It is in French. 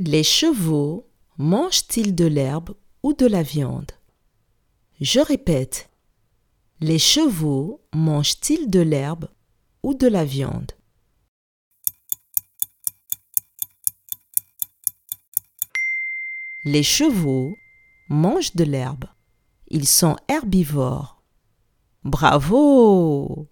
Les chevaux mangent-ils de l'herbe ou de la viande? Je répète, les chevaux mangent-ils de l'herbe ou de la viande? Les chevaux mangent de l'herbe. Ils sont herbivores. Bravo!